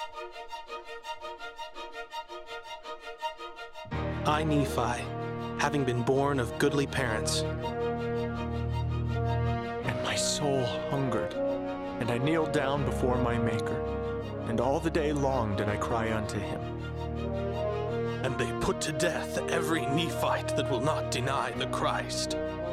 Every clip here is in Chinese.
I, Nephi, having been born of goodly parents, and my soul hungered, and I kneeled down before my Maker, and all the day long did I cry unto him. And they put to death every Nephite that will not deny the Christ,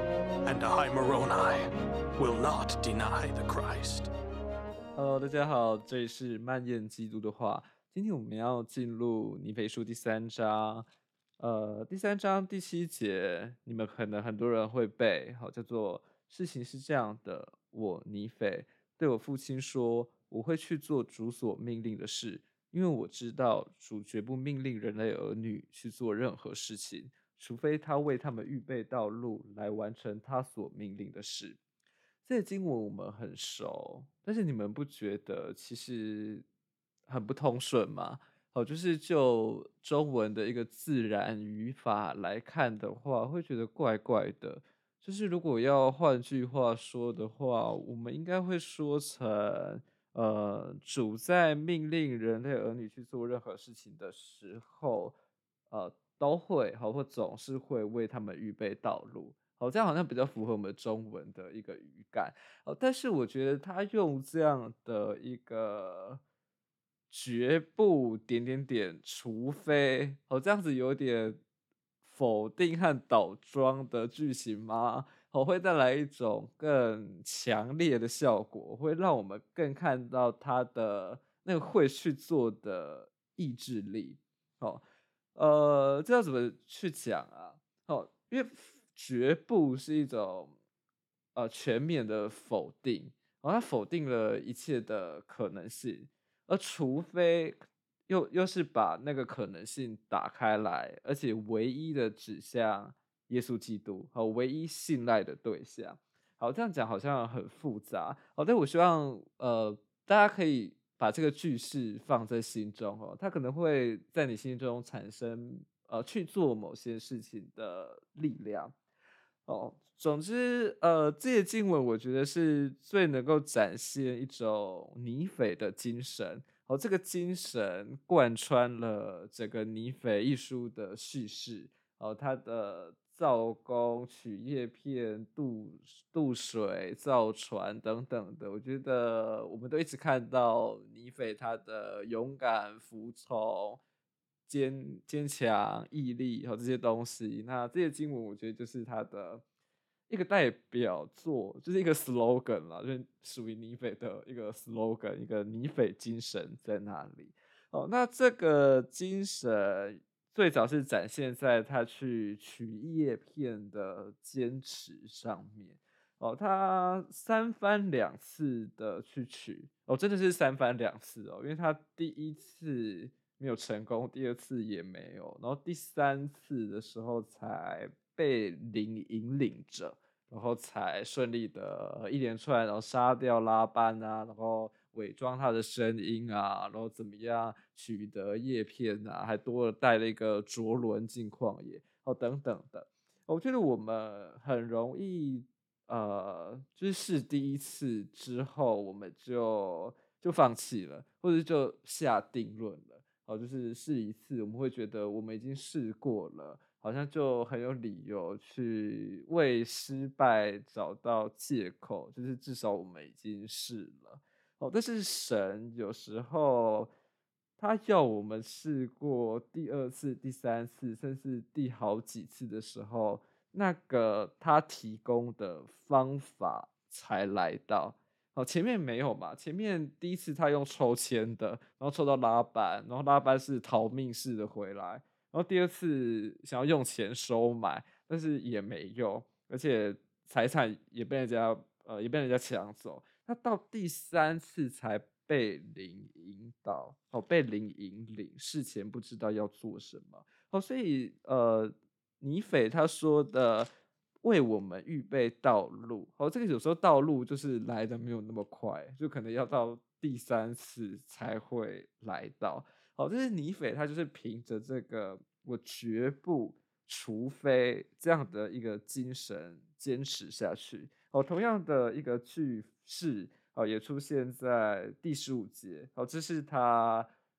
and I, Moroni, will not deny the Christ. Hello， 大家好，這裡是漫言基督的話。今天我們要進入尼腓書第3章。第3章第7節，你們可能很多人會背，好，叫做事情是這樣的，我尼腓對我父親說，我會去做主所命令的事，因為我知道主絕不命令人類兒女去做任何事情，除非他為他們預備道路來完成他所命令的事。這些經文我們很熟，但是你們不覺得其實很不通順嗎？好，就是就中文的一個自然語法來看的話，會覺得怪怪的。就是如果要換句話說的話，我們應該會說成，主在命令人類兒女去做任何事情的時候，都會好或總是會為他們預備道路。好，這樣好像比較符合我們中文的一個語感。但是我覺得他用這樣的一個絕不點點點，除非這樣子有點否定和倒裝的句型嗎？會帶來一種更強烈的效果，會讓我們更看到他的那個會去做的意志力。這要怎麼去講啊？因為絕不是一種全面的否定，它否定了一切的可能性。而除非又是把那個可能性打開來，而且唯一的指向耶穌基督，唯一信賴的對象。好，這樣講好像很複雜，但我希望大家可以把這個句式放在心中，它可能會在你心中產生去做某些事情的力量。總之，這些經文我覺得是最能夠展現一種尼腓的精神。這個精神貫穿了整個尼腓一書的敘事。他的造工、取葉片、渡水、造船等等的，我覺得我們都一直看到尼腓他的勇敢、服從、堅強、毅力和這些東西。那這些經文，我覺得就是他的一個代表作，就是一個 slogan 啦，就是屬於尼腓的一個 slogan， 一個尼腓精神在那裡。那這個精神最早是展現在他去取葉片的堅持上面。他三番兩次的去取，真的是三番兩次因為他第一次沒有成功，第二次也沒有，然後第三次的時候才被靈引領着，然後才順利的一連串，然後殺掉拉班啊，然後偽裝他的聲音啊，然後怎麼樣取得葉片啊，還多了帶了一個卓倫進曠野等等的。我覺得我們很容易就是試第一次之後，我們就放棄了，或者就下定論了。就是試一次，我們會覺得我們已經試過了，好像就很有理由去為失敗找到借口，就是至少我們已經試了。但是神有時候他要我們試過第二次、第三次，甚至第好幾次的時候，那個他提供的方法才來到。前面沒有嘛？前面第一次他用抽籤的，然後抽到拉班，然後拉班是逃命似的回來，然後第二次想要用錢收買，但是也沒用，而且財產也被人家搶走。那到第三次才被靈引導，被靈引領，事前不知道要做什麼。所以尼腓他說的，為我們預備道路。這個有時候道路就是來的沒有那麼快，就可能要到第三次才會來到。這是尼腓他就是憑着這個我絕不，除非這樣的一個精神堅持下去。同樣的一個句式也出現在第15節。這是他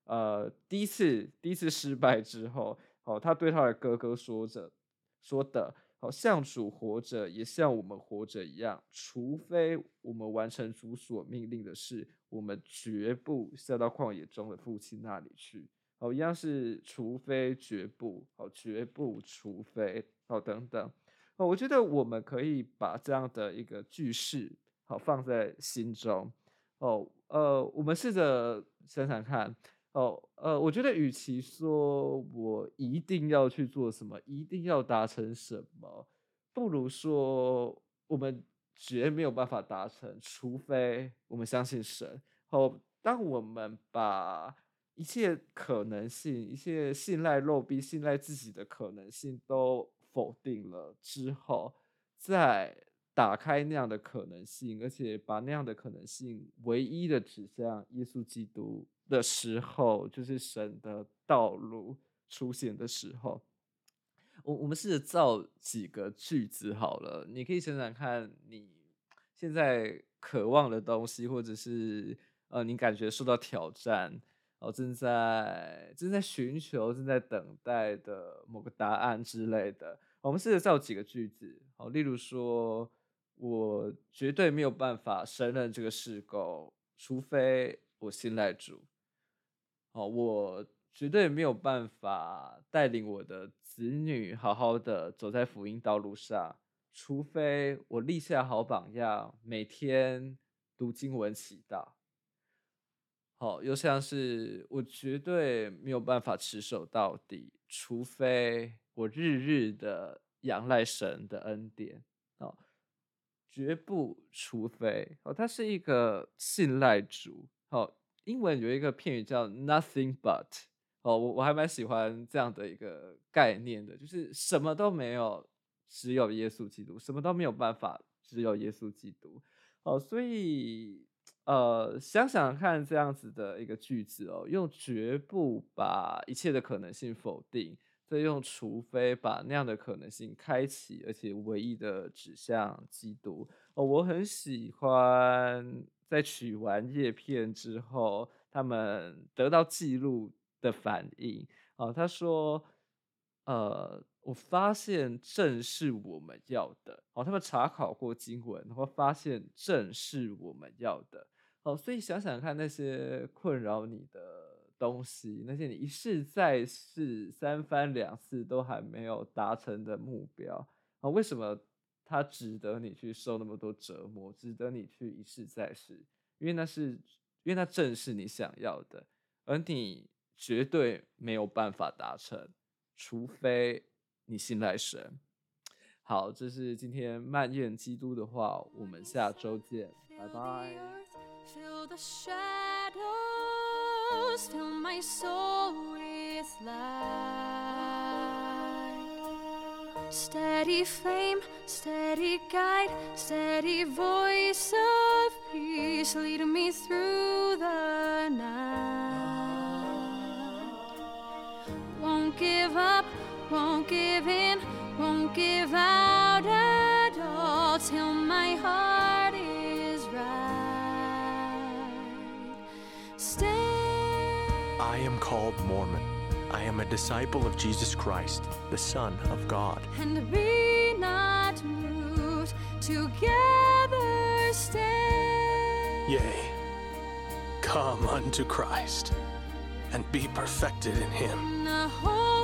第一次失敗之後，他對他的哥哥說的，像主活着，也像我們活着一樣，除非我們完成主所命令的事，我們絕不下到曠野中的父親那裡去。一樣是除非絕不，絕不除非，等等。我覺得我們可以把這樣的一個句式放在心中。我們試着想想看。我覺得與其說我一定要去做什麼，一定要達成什麼，不如說我們絕沒有辦法達成，除非我們相信神。當我們把一切可能性、一切信賴肉臂、信賴自己的可能性都否定了之後，再打開那樣的可能性，而且把那樣的可能性唯一的指向耶穌基督的時候，就是神的道路出現的時候。我們試着造幾個句子好了，你可以想想看，你現在渴望的東西，或者是你感覺受到挑戰，正在尋求、正在等待的某個答案之類的。我們試着造幾個句子，例如說，我絕對沒有辦法勝任這個事工，除非我信賴主。我絕對沒有辦法帶領我的子女好好的走在福音道路上，除非我立下好榜樣，每天讀經文祈禱。又像是我絕對沒有辦法持守到底，除非我日日的仰賴神的恩典。絕不除非，它是一個信賴主。英文有一個片語叫 nothing but， 我還蠻喜歡這樣的一個概念的，就是什麼都沒有，只有耶穌基督，什麼都沒有辦法，只有耶穌基督。所以想想看這樣子的一個句子，用絕不把一切的可能性否定，再用除非把那樣的可能性開啟，而且唯一的指向基督。我很喜歡在取完葉片之後，他們得到記錄的反應。他說，我發現正是我們要的。他們查考過經文，然後發現正是我們要的。所以想想看，那些困擾你的東西，那些你一試再試、三番兩次都還沒有達成的目標，為什麼它值得你去受那麼多折磨，值得你去一試再試？因為那正是你想要的，而你絕對沒有辦法達成，除非你信賴神。好，這是今天漫言基督的話，我們下周見，拜拜。 Fill the shadows, fill my soul with light. Steady flame, steady guide, steady voice of peace, lead me through the night. Won't give up, won't give in, won't give out at all till my heart is right. I am called Mormon. I am a disciple of Jesus Christ, the Son of God. And be not moved, together stand. Yea, come unto Christ, and be perfected in him. In the